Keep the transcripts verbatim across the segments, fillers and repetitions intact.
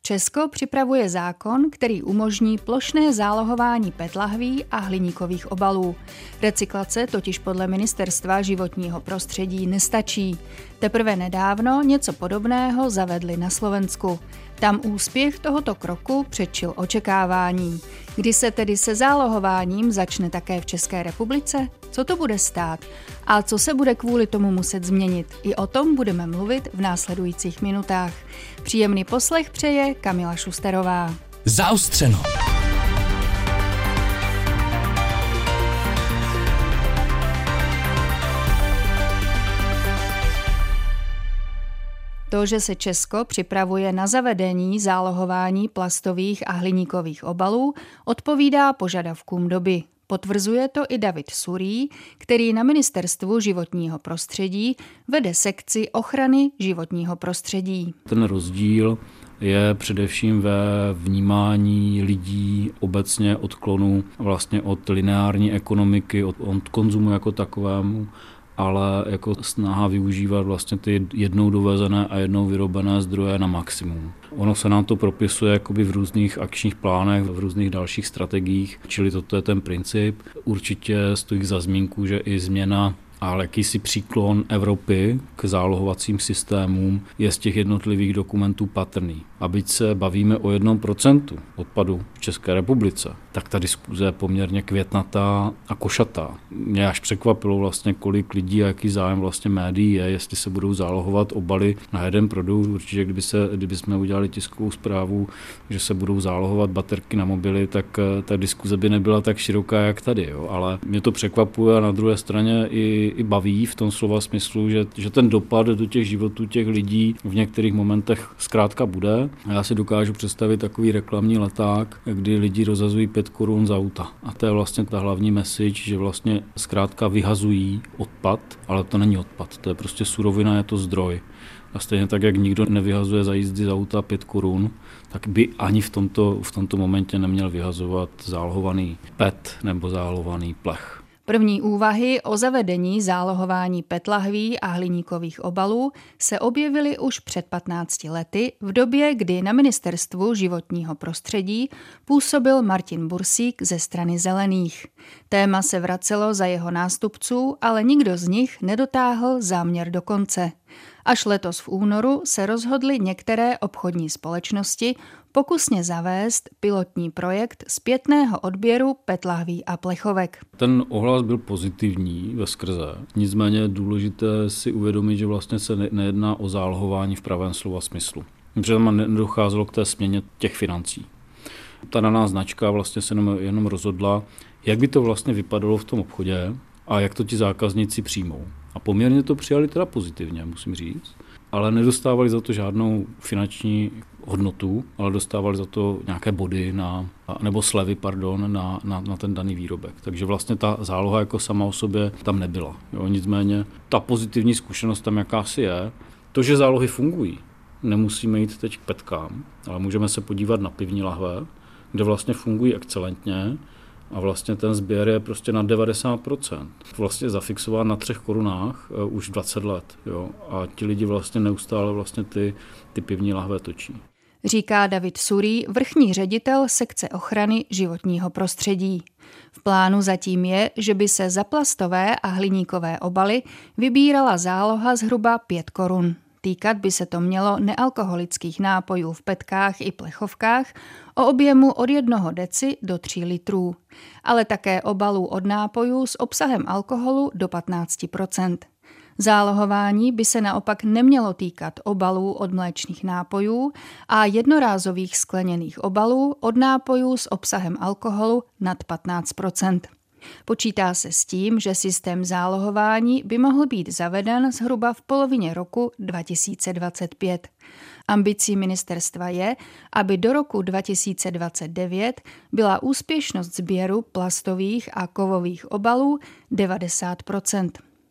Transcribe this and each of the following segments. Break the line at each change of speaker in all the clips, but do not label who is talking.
Česko připravuje zákon, který umožní plošné zálohování pé é té lahví a hliníkových obalů. Recyklace totiž podle Ministerstva životního prostředí nestačí. Teprve nedávno něco podobného zavedli na Slovensku. Tam úspěch tohoto kroku předčil očekávání. Kdy se tedy se zálohováním začne také v České republice? Co to bude stát? A co se bude kvůli tomu muset změnit? I o tom budeme mluvit v následujících minutách. Příjemný poslech přeje Kamila Šusterová.
Zaostřeno.
To, že se Česko připravuje na zavedení zálohování plastových a hliníkových obalů, odpovídá požadavkům doby. Potvrzuje to i David Surý, který na Ministerstvu životního prostředí vede sekci ochrany životního prostředí.
Ten rozdíl je především ve vnímání lidí obecně odklonu vlastně od lineární ekonomiky, od, od konzumu jako takovému, ale jako snaha využívat vlastně ty jednou dovezené a jednou vyrobené zdroje na maximum. Ono se nám to propisuje jakoby v různých akčních plánech, v různých dalších strategiích, čili toto je ten princip. Určitě stojí za zmínku, že i změna ale jakýsi příklon Evropy k zálohovacím systémům je z těch jednotlivých dokumentů patrný. A byť se bavíme o jednom procentu odpadu v České republice, tak ta diskuze je poměrně květnatá a košatá. Mě až překvapilo vlastně, kolik lidí a jaký zájem vlastně médií je, jestli se budou zálohovat obaly na jeden produkt. Určitě, kdyby, se, kdyby jsme udělali tiskovou zprávu, že se budou zálohovat baterky na mobily, tak ta diskuze by nebyla tak široká, jak tady. Jo. Ale mě to překvapuje a na druhé straně i, i baví v tom slova smyslu, že, že ten dopad do těch životů těch lidí v některých momentech zkrátka bude. Já si dokážu představit takový reklamní leták, kdy lidi rozhazují pět korun za auta. A to je vlastně ta hlavní message, že vlastně zkrátka vyhazují odpad, ale to není odpad, to je prostě surovina, je to zdroj. A stejně tak, jak nikdo nevyhazuje za jízdy z auta pět korun, tak by ani v tomto, v tomto momentě neměl vyhazovat zálohovaný P E T nebo zálohovaný plech.
První úvahy o zavedení zálohování pé é té lahví a hliníkových obalů se objevily už před patnácti lety v době, kdy na Ministerstvu životního prostředí působil Martin Bursík ze strany Zelených. Téma se vracelo za jeho nástupců, ale nikdo z nich nedotáhl záměr do konce. Až letos v únoru se rozhodly některé obchodní společnosti pokusně zavést pilotní projekt zpětného odběru pé é té lahví a plechovek.
Ten ohlas byl pozitivní veskrze, nicméně je důležité si uvědomit, že vlastně se nejedná o zálohování v pravém slova smyslu. Protože tam nedocházelo k té směně těch financí. Ta daná značka vlastně se jenom, jenom rozhodla, jak by to vlastně vypadalo v tom obchodě a jak to ti zákazníci přijmou. A poměrně to přijali teda pozitivně, musím říct, ale nedostávali za to žádnou finanční hodnotu, ale dostávali za to nějaké body na, nebo slevy, pardon, na, na, na ten daný výrobek. Takže vlastně ta záloha jako sama o sobě tam nebyla. Jo, nicméně ta pozitivní zkušenost tam jakási je. To, že zálohy fungují, nemusíme jít teď k petkám, ale můžeme se podívat na pivní lahve, kde vlastně fungují excelentně a vlastně ten sběr je prostě na devadesát procent. Vlastně zafixován na třech korunách uh, už dvacet let. Jo? A ti lidi vlastně neustále vlastně ty, ty pivní lahve točí.
Říká David Surý, vrchní ředitel sekce ochrany životního prostředí. V plánu zatím je, že by se za plastové a hliníkové obaly vybírala záloha zhruba pět korun. Týkat by se to mělo nealkoholických nápojů v petkách i plechovkách o objemu od jednoho deci do tří litrů, ale také obalů od nápojů s obsahem alkoholu do patnáct procent. Zálohování by se naopak nemělo týkat obalů od mléčných nápojů a jednorázových skleněných obalů od nápojů s obsahem alkoholu nad patnáct procent. Počítá se s tím, že systém zálohování by mohl být zaveden zhruba v polovině roku dva tisíce dvacet pět. Ambicí ministerstva je, aby do roku dva tisíce dvacet devět byla úspěšnost sběru plastových a kovových obalů devadesát procent.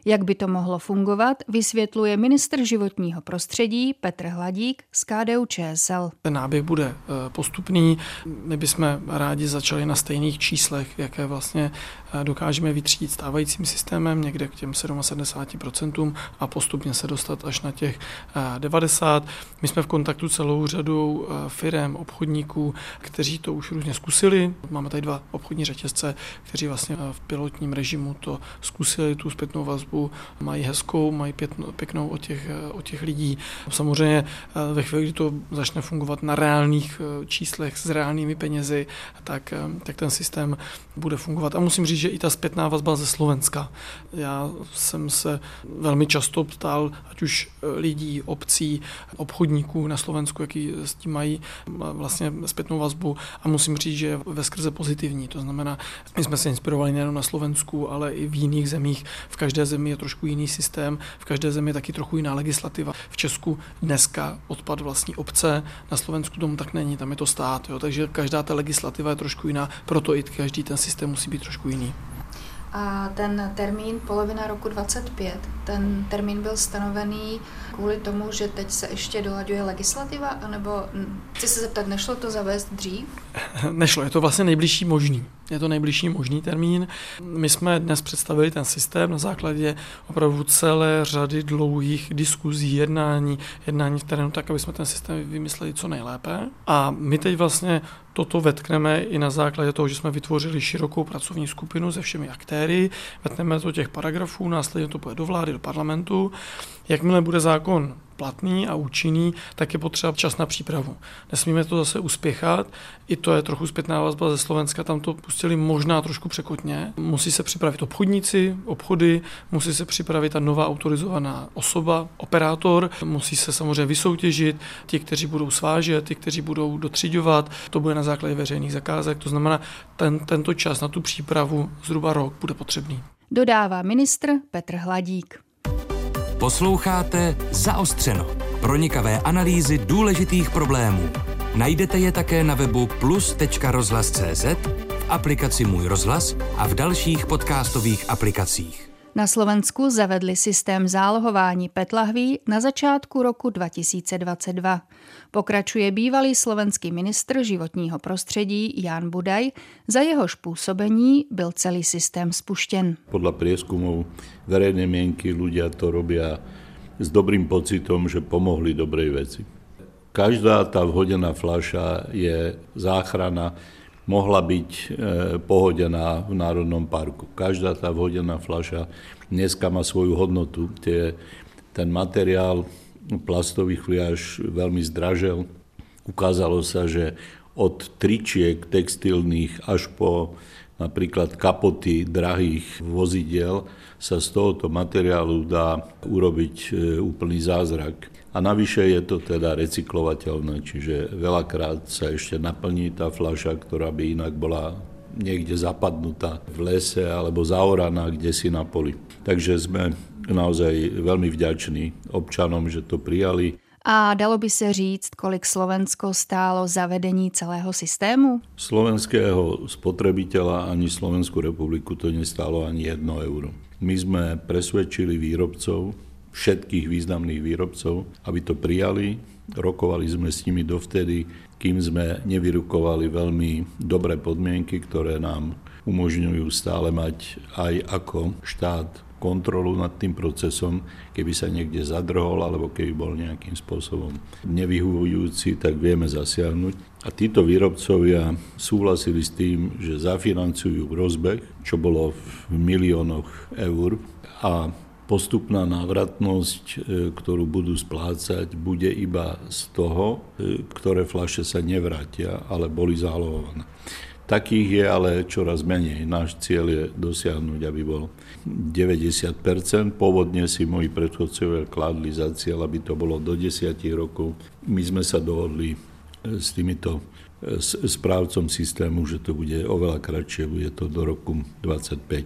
Jak by to mohlo fungovat, vysvětluje ministr životního prostředí Petr Hladík z K D U Č S L.
Ten náběh bude postupný. My bychom rádi začali na stejných číslech, jaké vlastně dokážeme vytřídit stávajícím systémem, někde k těm sedmdesát procent a postupně se dostat až na těch devadesát. My jsme v kontaktu celou řadou firem, obchodníků, kteří to už různě zkusili. Máme tady dva obchodní řetězce, kteří vlastně v pilotním režimu to zkusili, tu zpětnou vazbu, mají hezkou, mají pěknou od těch, od těch lidí. Samozřejmě ve chvíli, kdy to začne fungovat na reálných číslech s reálnými penězi, tak, tak ten systém bude fungovat. A musím říct, že i ta zpětná vazba ze Slovenska. Já jsem se velmi často ptal, ať už lidí, obcí, obchodníků na Slovensku, jaký s tím mají vlastně zpětnou vazbu, a musím říct, že je veskrze pozitivní. To znamená, my jsme se inspirovali nejen na Slovensku, ale i v jiných zemích. V každé zemi je trošku jiný systém, v každé zemi je taky trochu jiná legislativa. V Česku dneska odpad vlastní obce, na Slovensku tomu tak není, tam je to stát, jo, takže každá ta legislativa je trošku jiná, proto i každý ten systém musí být trošku jiný.
A ten termín polovina roku dvacet pět, ten termín byl stanovený kvůli tomu, že teď se ještě dolaďuje legislativa, anebo chci se zeptat, nešlo to zavést dřív?
Nešlo, je to vlastně nejbližší možný. Je to nejbližší možný termín. My jsme dnes představili ten systém na základě opravdu celé řady dlouhých diskuzí, jednání, jednání v terénu, tak, aby jsme ten systém vymysleli co nejlépe. A my teď vlastně toto vetkneme i na základě toho, že jsme vytvořili širokou pracovní skupinu se všemi aktéry, vetkneme to těch paragrafů, následně to půjde do vlády, do parlamentu. Jakmile bude zákon platný a účinný, tak je potřeba čas na přípravu. Nesmíme to zase uspěchat, i to je trochu zpětná vazba ze Slovenska, tam to pustili možná trošku překotně. Musí se připravit obchodníci, obchody, musí se připravit ta nová autorizovaná osoba, operátor, musí se samozřejmě vysoutěžit ti, kteří budou svážet, ti, kteří budou dotřiďovat, to bude na základě veřejných zakázek, to znamená, ten, tento čas na tu přípravu zhruba rok bude potřebný.
Dodává ministr Petr Hladík.
Posloucháte Zaostřeno. Pronikavé analýzy důležitých problémů. Najdete je také na webu plus tečka rozhlas tečka cé zet, v aplikaci Můj rozhlas a v dalších podcastových aplikacích.
Na Slovensku zavedli systém zálohování pé é té lahví na začátku roku dva tisíce dvacet dva. Pokračuje bývalý slovenský ministr životního prostředí Ján Budaj, za jehož působení byl celý systém spuštěn.
Podľa prieskumov verejnej mienky ľudia to robia s dobrým pocitom, že pomohli dobrej veci. Každá tá vhodená fľaša je záchrana, mohla byť e, pohodená v Národnom parku. Každá tá vhodená fľaša dneska má svoju hodnotu. Tie, ten materiál plastových fliaž veľmi zdražel. Ukázalo sa, že od tričiek textilných až po napríklad kapoty drahých vozidiel sa z tohoto materiálu dá urobiť e, úplný zázrak. A navyše je to teda recyklovateľné, čiže veľakrát sa ešte naplní tá fľaša, ktorá by inak bola niekde zapadnutá v lese alebo zaoraná kdesi na poli. Takže sme naozaj veľmi vďační občanom, že to prijali.
A dalo by se říct, kolik Slovensko stálo zavedení celého systému?
Slovenského spotrebiteľa ani Slovenskú republiku to nestálo ani jedno euro. My sme presvedčili výrobcov, všetkých významných výrobcov, aby to prijali. Rokovali sme s nimi dovtedy, kým sme nevyrukovali veľmi dobré podmienky, ktoré nám umožňujú stále mať aj ako štát kontrolu nad tým procesom, keby sa niekde zadrhol alebo keby bol nejakým spôsobom nevyhovujúci, tak vieme zasiahnuť. A títo výrobcovia súhlasili s tým, že zafinancujú rozbeh, čo bolo v miliónoch eur, a postupná návratnosť, ktorú budú splácať, bude iba z toho, ktoré fľaše sa nevrátia, ale boli zálohované. Takých je ale čoraz menej. Náš cieľ je dosiahnuť, aby bol deväťdesiat percent. Pôvodne si moji predchodcovia kladli za cieľ, aby to bolo do desať rokov. My sme sa dohodli s týmito správcom systému, že to bude oveľa kratšie, bude to do roku dvadsaťpäť.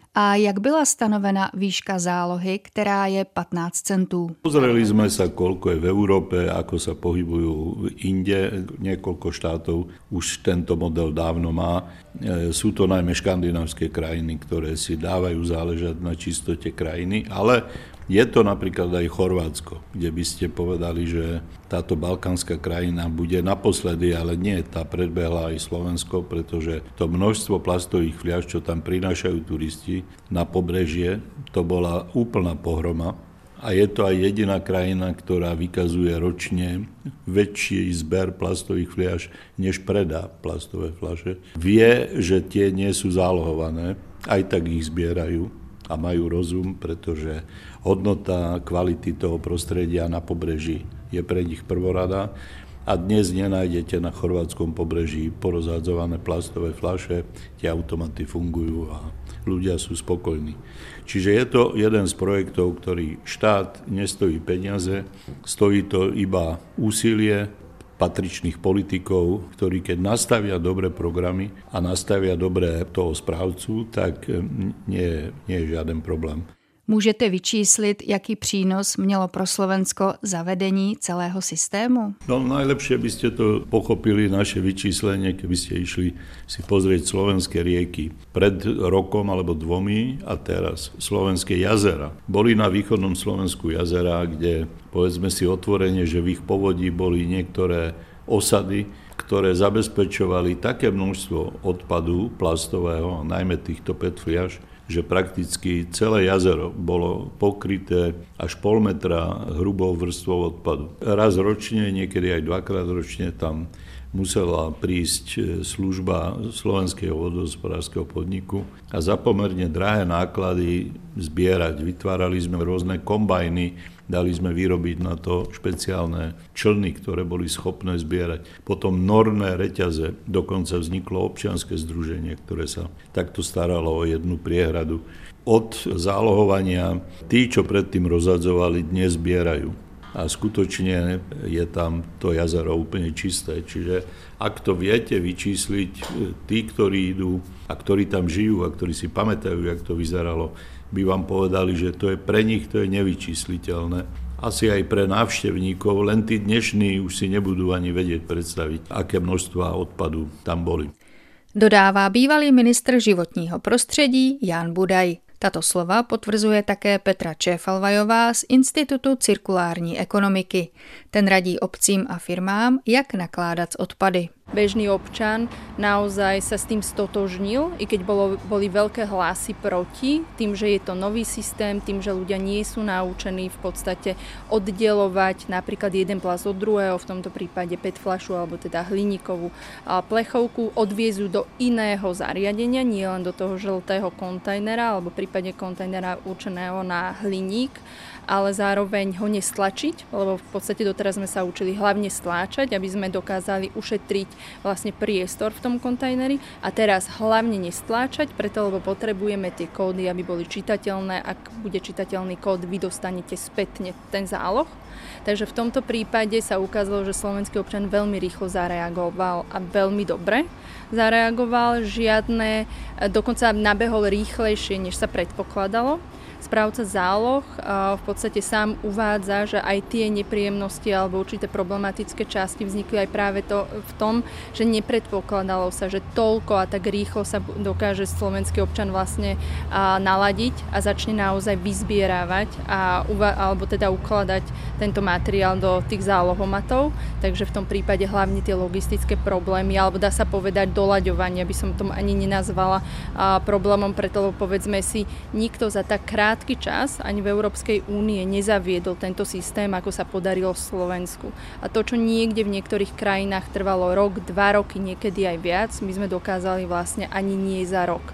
A jak byla stanovena výška zálohy, která je patnáct centů?
Pozreli sme sa, koľko je v Európe, ako sa pohybujú inde. Niekoľko štátov už tento model dávno má. Sú to najmä škandinávské krajiny, ktoré si dávajú záležať na čistote krajiny, ale je to napríklad aj Chorvátsko, kde by ste povedali, že táto balkánska krajina bude naposledy, ale nie, tá predbehla aj Slovensko, pretože to množstvo plastových fliaš, čo tam prinášajú turisti na pobrežie, to bola úplná pohroma. A je to aj jediná krajina, ktorá vykazuje ročne väčší zber plastových fliaš, než predá plastové fľaše. Vie, že tie nie sú zálohované, aj tak ich zbierajú a majú rozum, pretože hodnota kvality toho prostredia na pobreží je pre nich prvorada a dnes nenájdete na chorvátskom pobreží porozhadzované plastové fľaše, tie automaty fungujú a ľudia sú spokojní. Čiže je to jeden z projektov, ktorý štát nestojí peniaze, stojí to iba úsilie patričných politikov, ktorí keď nastavia dobré programy a nastavia dobré toho správcu, tak nie, nie je žiaden problém.
Můžete vyčíslit, jaký přínos mělo pro Slovensko zavedení celého systému?
No najlepšie by ste to pochopili naše vyčíslenie, keby ste išli si pozrieť slovenské rieky pred rokom alebo dvomi a teraz slovenské jazera. Boli na východnom Slovensku jazera, kde povedzme si otvorene, že v ich povodí boli niektoré osady, ktoré zabezpečovali také množstvo odpadu plastového, najmä týchto pé é té fliaš, že prakticky celé jazero bolo pokryté až pol metra hrubou vrstvou odpadu. Raz ročne, niekedy aj dvakrát ročne tam musela prísť služba Slovenského vodohospodárskeho podniku a za pomerne drahé náklady zbierať. Vytvárali sme rôzne kombajny, dali sme vyrobiť na to špeciálne člny, ktoré boli schopné zbierať. Potom norné reťaze, dokonca vzniklo občianske združenie, ktoré sa takto staralo o jednu priehradu. Od zálohovania tí, čo predtým rozhadzovali, dnes zbierajú. A skutočne je tam to jazero úplne čisté. Čiže ak to viete vyčísliť, tí, ktorí idú a ktorí tam žijú a ktorí si pamätajú, jak to vyzeralo, by vám povedali, že to je pre nich to je nevyčísliteľné. Asi aj pre návštevníkov, len tí dnešní už si nebudú ani vedieť predstaviť, aké množstva odpadu tam boli.
Dodává bývalý ministr životního prostředí Jan Budaj. Tato slova potvrzuje také Petra Čéfalvajová z Institutu cirkulární ekonomiky. Ten radí obcím a firmám, jak nakládat s odpady.
Bežný občan naozaj sa s tým stotožnil, i keď bolo, boli veľké hlasy proti, tým, že je to nový systém, tým, že ľudia nie sú naučení v podstate oddelovať napríklad jeden plast od druhého, v tomto prípade pé é té fľašu alebo teda hliníkovú plechovku, odviezú do iného zariadenia, nie len do toho žltého kontajnera alebo prípadne kontajnera určeného na hliník, ale zároveň ho nestlačiť, lebo v podstate doteraz sme sa učili hlavne stláčať, aby sme dokázali ušetriť vlastne priestor v tom kontajneri a teraz hlavne nestláčať, preto lebo potrebujeme tie kódy, aby boli čitateľné. Ak bude čitateľný kód, vy dostanete spätne ten záloh. Takže v tomto prípade sa ukázalo, že slovenský občan veľmi rýchlo zareagoval a veľmi dobre zareagoval. Žiadne, dokonca nabehol rýchlejšie, než sa predpokladalo. Správca záloh v podstate sám uvádza, že aj tie nepríjemnosti alebo určité problematické časti vznikli aj práve to v tom, že nepredpokladalo sa, že toľko a tak rýchlo sa dokáže slovenský občan vlastne naladiť a začne naozaj vyzbierávať a, alebo teda ukladať tento materiál do tých zálohomatov. Takže v tom prípade hlavne tie logistické problémy, alebo dá sa povedať doľaďovanie, by som tom ani nenazvala problémom, preto povedzme si, nikto za tak krát krátky čas ani v Európskej únie nezaviedol tento systém, ako sa podarilo v Slovensku. A to, čo niekde v niektorých krajinách trvalo rok, dva roky, niekedy aj viac, my sme dokázali vlastne ani nie za rok.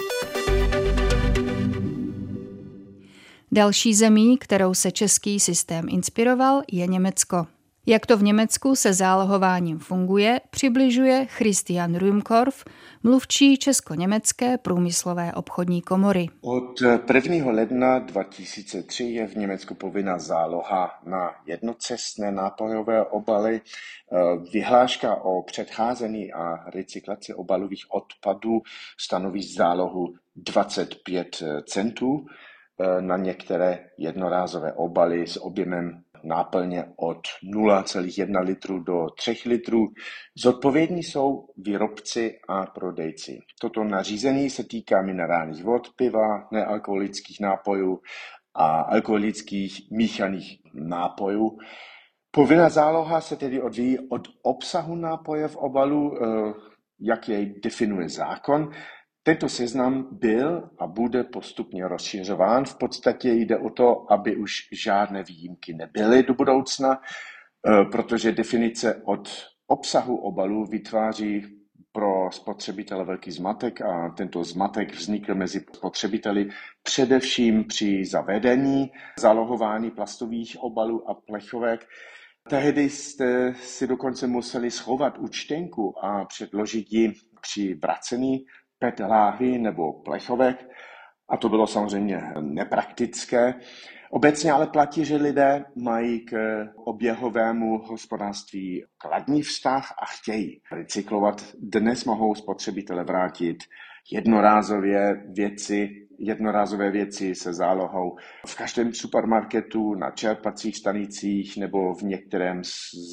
Další zemí, kterou se český systém inspiroval, je Německo. Jak to v Německu se zálohováním funguje, přibližuje Christian Rühmkorff, mluvčí Česko-německé průmyslové obchodní komory.
Od prvního ledna dva tisíce tři je v Německu povinná záloha na jednocestné nápojové obaly. Vyhláška o předcházení a recyklaci obalových odpadů stanoví zálohu dvacet pět centů na některé jednorázové obaly s objemem náplně od nula celá jedna litru do tři litrů. Zodpovědní jsou výrobci a prodejci. Toto nařízení se týká minerálních vod, piva, nealkoholických nápojů a alkoholických míchaných nápojů. Povinná záloha se tedy odvíjí od obsahu nápoje v obalu, jak jej definuje zákon. Tento seznam byl a bude postupně rozšiřován. V podstatě jde o to, aby už žádné výjimky nebyly do budoucna, protože definice od obsahu obalu vytváří pro spotřebitele velký zmatek a tento zmatek vznikl mezi spotřebiteli především při zavedení zálohování plastových obalů a plechovek. Tehdy jste si dokonce museli schovat účtenku a předložit ji při vracení P E T láhví nebo plechovek a to bylo samozřejmě nepraktické. Obecně ale platí, že lidé mají k oběhovému hospodářství kladný vztah a chtějí recyklovat. Dnes mohou spotřebitele vrátit jednorázové věci, jednorázové věci se zálohou v každém supermarketu, na čerpacích stanicích nebo v některém z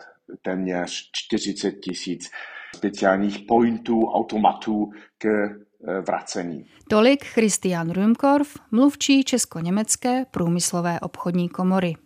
téměř čtyřicet tisíc speciálních pointů, automatů k vracení.
Tolik Christian Rühmkorff, mluvčí Česko-německé průmyslové obchodní komory.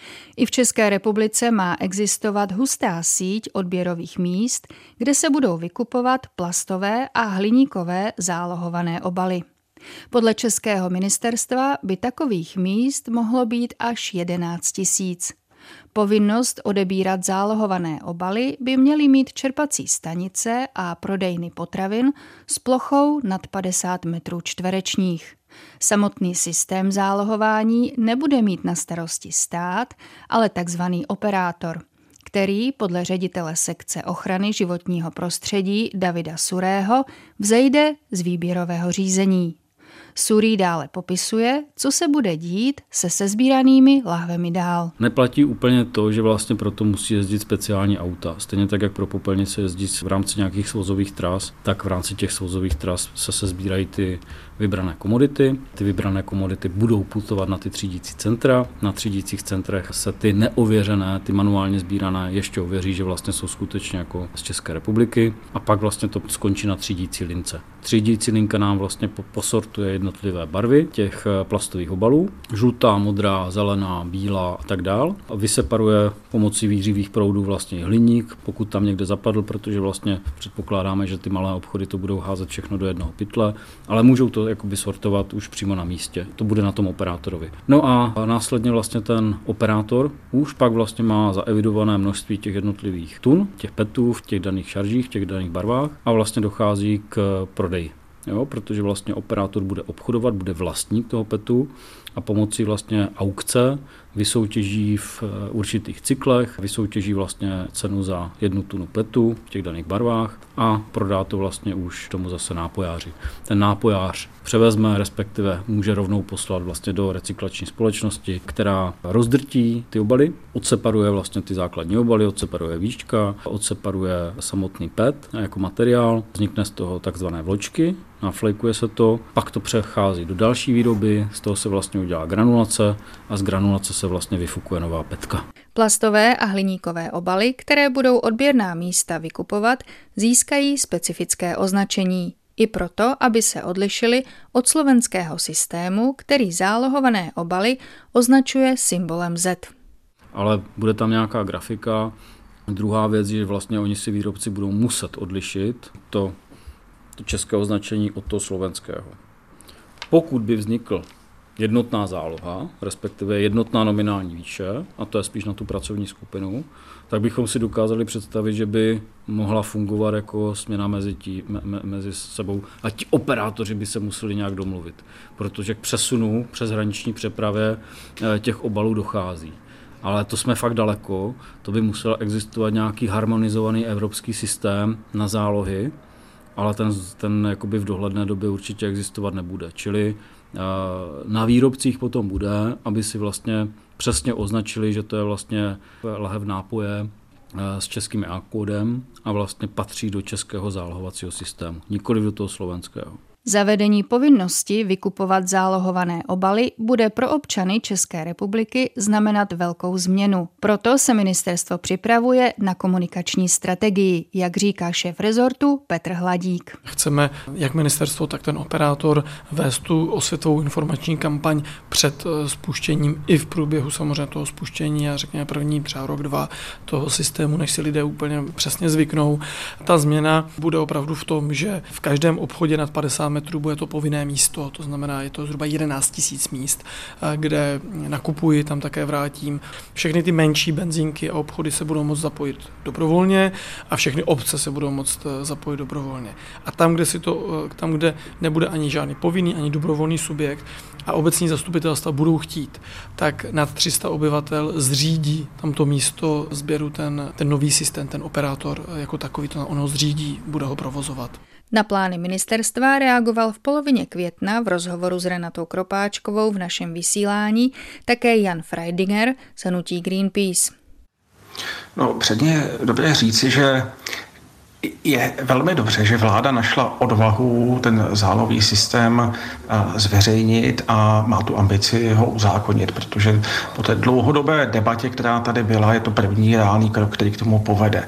I v České republice má existovat hustá síť odběrových míst, kde se budou vykupovat plastové a hliníkové zálohované obaly. Podle českého ministerstva by takových míst mohlo být až jedenáct tisíc. Povinnost odebírat zálohované obaly by měly mít čerpací stanice a prodejny potravin s plochou nad padesát metrů čtverečních. Samotný systém zálohování nebude mít na starosti stát, ale takzvaný operátor, který podle ředitele sekce ochrany životního prostředí Davida Surého vzejde z výběrového řízení. Surý dále popisuje, co se bude dít se sesbíranými lahvemi dál.
Neplatí úplně to, že vlastně proto musí jezdit speciální auta. Stejně tak, jak pro popelnice jezdí v rámci nějakých svozových tras, tak v rámci těch svozových tras se sesbírají ty vybrané komodity. Ty vybrané komodity budou putovat na ty třídící centra. Na třídících centrech se ty neověřené, ty manuálně sbírané ještě ověří, že vlastně jsou skutečně jako z České republiky. A pak vlastně to skončí na třídící lince. Třídící linka nám vlastně posortuje jednotlivé barvy těch plastových obalů. Žlutá, modrá, zelená, bílá a tak dál. A vyseparuje pomocí výřivých proudů vlastně hliník, pokud tam někde zapadl, protože vlastně předpokládáme, že ty malé obchody to budou házet všechno do jednoho pytle, ale můžou to jakoby sortovat už přímo na místě. To bude na tom operátorovi. No a následně vlastně ten operátor už pak vlastně má zaevidované množství těch jednotlivých tun, těch petů v těch daných šaržích, v těch daných barvách a vlastně dochází k prodeji. Jo, protože vlastně operátor bude obchodovat, bude vlastník toho petu a pomocí vlastně aukce vysoutěží v určitých cyklech, vysoutěží vlastně cenu za jednu tunu petu v těch daných barvách a prodá to vlastně už tomu zase nápojáři. Ten nápojář převezme, respektive může rovnou poslat vlastně do recyklační společnosti, která rozdrtí ty obaly, odseparuje vlastně ty základní obaly, odseparuje víčka, odseparuje samotný pet jako materiál, vznikne z toho takzvané vločky, naflejkuje se to, pak to přechází do další výroby, z toho se vlastně udělá granulace a z granulace se vlastně vyfukuje nová petka.
Plastové a hliníkové obaly, které budou odběrná místa vykupovat, získají specifické označení. I proto, aby se odlišily od slovenského systému, který zálohované obaly označuje symbolem Z.
Ale bude tam nějaká grafika. Druhá věc je, že vlastně oni si výrobci budou muset odlišit to, to české označení od toho slovenského. Pokud by vznikl jednotná záloha, respektive jednotná nominální výše, a to je spíš na tu pracovní skupinu, tak bychom si dokázali představit, že by mohla fungovat jako směna mezi, tí, me, mezi sebou a ti operátoři by se museli nějak domluvit, protože k přesunu přes hraniční přepravě těch obalů dochází. Ale to jsme fakt daleko, to by musel existovat nějaký harmonizovaný evropský systém na zálohy, ale ten, ten jakoby v dohledné době určitě existovat nebude. Čili na výrobcích potom bude, aby si vlastně přesně označili, že to je vlastně lahev nápoje s českým á kódem a vlastně patří do českého zálohovacího systému, nikoli do toho slovenského.
Zavedení povinnosti vykupovat zálohované obaly bude pro občany České republiky znamenat velkou změnu. Proto se ministerstvo připravuje na komunikační strategii, jak říká šéf rezortu Petr Hladík.
Chceme, jak ministerstvo, tak ten operátor, vést tu osvětovou informační kampaň před spuštěním i v průběhu samozřejmě toho spuštění a řekněme první třeba rok, dva toho systému, než si lidé úplně přesně zvyknou. Ta změna bude opravdu v tom, že v každém obchodě nad padesát metrů bude to povinné místo, to znamená, je to zhruba jedenáct tisíc míst, kde nakupuji, tam také vrátím. Všechny ty menší benzínky a obchody se budou moct zapojit dobrovolně a všechny obce se budou moct zapojit dobrovolně. A tam, kde si to, tam, kde nebude ani žádný povinný, ani dobrovolný subjekt a obecní zastupitelstva budou chtít, tak nad tři sta obyvatel zřídí tamto místo sběru ten, ten nový systém, ten operátor jako takový to ono zřídí, bude ho provozovat.
Na plány ministerstva reagoval v polovině května v rozhovoru s Renatou Kropáčkovou v našem vysílání také Jan Freidinger z hnutí Greenpeace.
No, předně je dobré říci, že je velmi dobře, že vláda našla odvahu ten zálohový systém zveřejnit a má tu ambici ho uzákonit, protože po té dlouhodobé debatě, která tady byla, je to první reálný krok, který k tomu povede.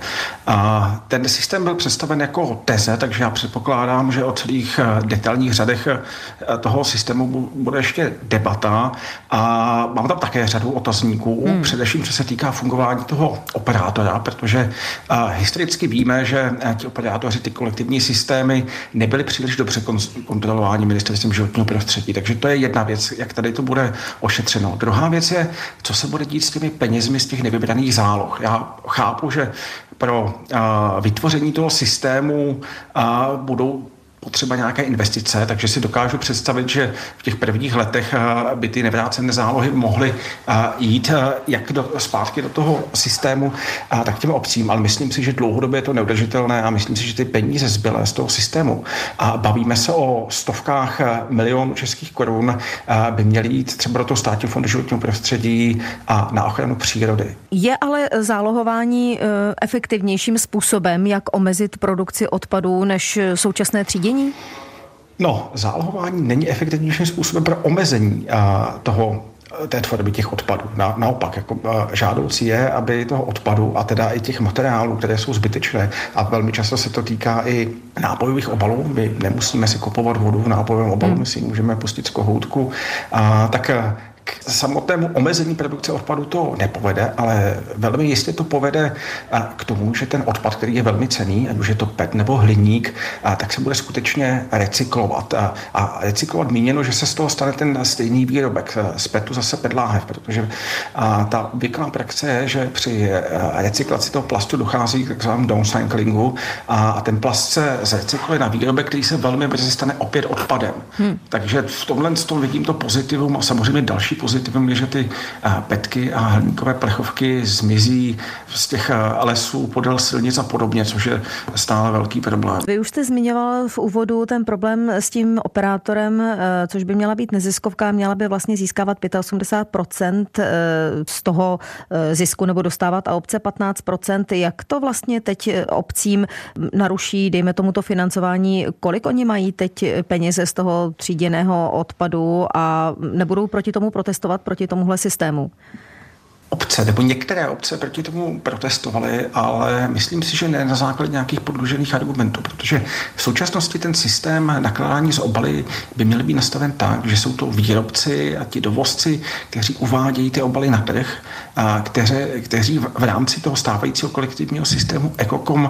A ten systém byl představen jako teze, takže já předpokládám, že o celých detailních řadech toho systému bude ještě debata a mám tam také řadu otazníků, hmm. především, co se týká fungování toho operátora, protože historicky víme, že ti operátoři, ty kolektivní systémy nebyly příliš dobře kontrolováni ministerstvem životního prostředí. Takže to je jedna věc, jak tady to bude ošetřeno. Druhá věc je, co se bude dít s těmi penězmi z těch nevybraných záloh. Já chápu, že pro uh, vytvoření toho systému uh, budou potřeba nějaké investice, takže si dokážu představit, že v těch prvních letech by ty nevrácené zálohy mohly jít jak do, zpátky do toho systému, tak těm obcím, ale myslím si, že dlouhodobě je to neudržitelné a myslím si, že ty peníze zbylé z toho systému a bavíme se o stovkách milionů českých korun, by měly jít třeba do toho státního fondu životního prostředí a na ochranu přírody.
Je ale zálohování efektivnějším způsobem, jak omezit produkci odpadů než současné třídění?
No, zálohování není efektivnějším způsobem pro omezení a, toho té tvorby těch odpadů. Na, naopak, jako žádoucí je, aby toho odpadu a teda i těch materiálů, které jsou zbytečné a velmi často se to týká i nápojových obalů, my nemusíme si kupovat vodu v nápojovém obalu, hmm. my si můžeme pustit z kohoutku, a tak k samotnému omezení produkce odpadu to nepovede, ale velmi jistě to povede k tomu, že ten odpad, který je velmi cenný, ať už je to P E T nebo hliník, tak se bude skutečně recyklovat. A recyklovat míněno, že se z toho stane ten stejný výrobek. Z P E T zase P E T láhev, protože ta obvyklá praxe je, že při recyklaci toho plastu dochází k takzvanému downcyclingu a ten plast se zrecykluje na výrobek, který se velmi brzy stane opět odpadem. Hmm. Takže v tomhle z toho vidím to pozitivum a samozřejmě další pozitivum je, že ty petky a hliníkové plechovky zmizí z těch lesů, podél silnic a podobně, což je stále velký problém.
Vy už jste zmiňoval v úvodu ten problém s tím operátorem, což by měla být neziskovka, měla by vlastně získávat osmdesát pět procent z toho zisku nebo dostávat a obce patnáct procent. Jak to vlastně teď obcím naruší, dejme tomu to financování, kolik oni mají teď peněze z toho tříděného odpadu a nebudou proti tomu protestovat proti tomuhle systému?
Obce, nebo některé obce proti tomu protestovaly, ale myslím si, že ne na základě nějakých podložených argumentů, protože v současnosti ten systém nakládání s obaly by měl být nastaven tak, že jsou to výrobci a ti dovozci, kteří uvádějí ty obaly na trh, a kteři, kteří v rámci toho stávajícího kolektivního systému Ekokom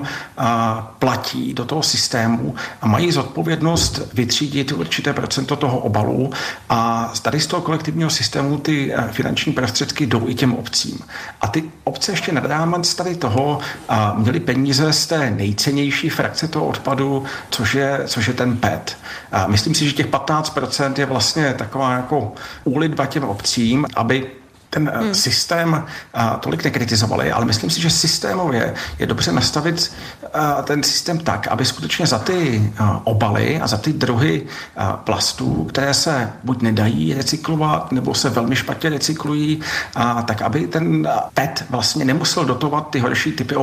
platí do toho systému a mají zodpovědnost vytřídit určité procento toho obalu a tady z toho kolektivního systému ty finanční prostředky jdou i těm obcím. A ty obce ještě nad rámec tady toho a měly peníze z té nejcennější frakce toho odpadu, což je, což je ten P E T. A myslím si, že těch patnáct procent je vlastně taková jako úlitba těm obcím, aby ten hmm. systém a, tolik nekritizovali, ale myslím si, že systémově je dobře nastavit a, ten systém tak, aby skutečně za ty a, obaly a za ty druhy a, plastů, které se buď nedají recyklovat, nebo se velmi špatně recyklují, a, tak aby ten P E T vlastně nemusel dotovat ty horší typy obalů.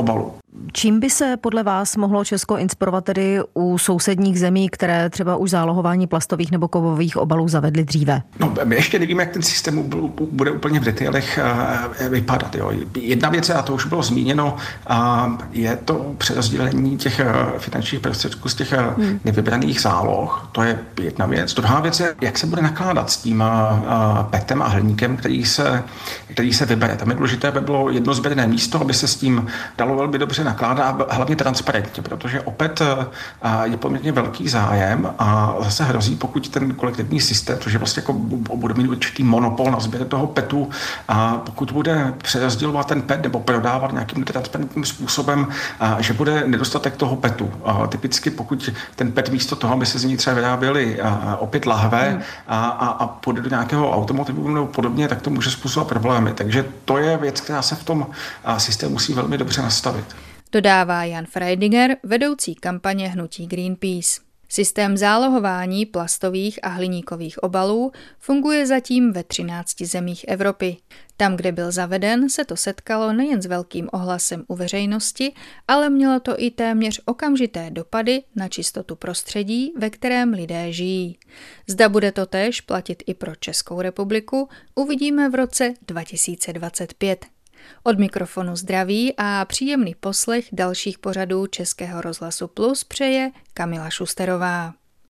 Čím by se podle vás mohlo Česko inspirovat tedy u sousedních zemí, které třeba už zálohování plastových nebo kovových obalů zavedly dříve?
No, my ještě nevíme, jak ten systém bude úplně v detailech vypadat. Jo. Jedna věc, a to už bylo zmíněno, je to přerozdělení těch finančních prostředků z těch hmm. nevybraných záloh. To je jedna věc. Druhá věc je, jak se bude nakládat s tím petem a hliníkem, který se, který se vybere. Tam je důležité, aby bylo jedno sběrné místo, aby se s tím dalo velmi dobře nakládá a hlavně transparentně, protože opět je poměrně velký zájem a zase hrozí, pokud ten kolektivní systém, což je vlastně jako bude mít určitý monopol na sběr toho petu, a pokud bude přerozdělovat ten pet nebo prodávat nějakým netransparentním způsobem, a že bude nedostatek toho petu. A typicky pokud ten pet místo toho, aby se z ní třeba vyráběly opět lahve hmm. a, a, a půjde do nějakého automotivu nebo podobně, tak to může způsobovat problémy. Takže to je věc, která se v tom systému musí velmi dobře nastavit.
Dodává Jan Freidinger, vedoucí kampaně hnutí Greenpeace. Systém zálohování plastových a hliníkových obalů funguje zatím ve třinácti zemích Evropy. Tam, kde byl zaveden, se to setkalo nejen s velkým ohlasem u veřejnosti, ale mělo to i téměř okamžité dopady na čistotu prostředí, ve kterém lidé žijí. Zda bude to též platit i pro Českou republiku, uvidíme v roce dva tisíce dvacet pět. Od mikrofonu zdraví a příjemný poslech dalších pořadů Českého rozhlasu Plus přeje Kamila Šusterová.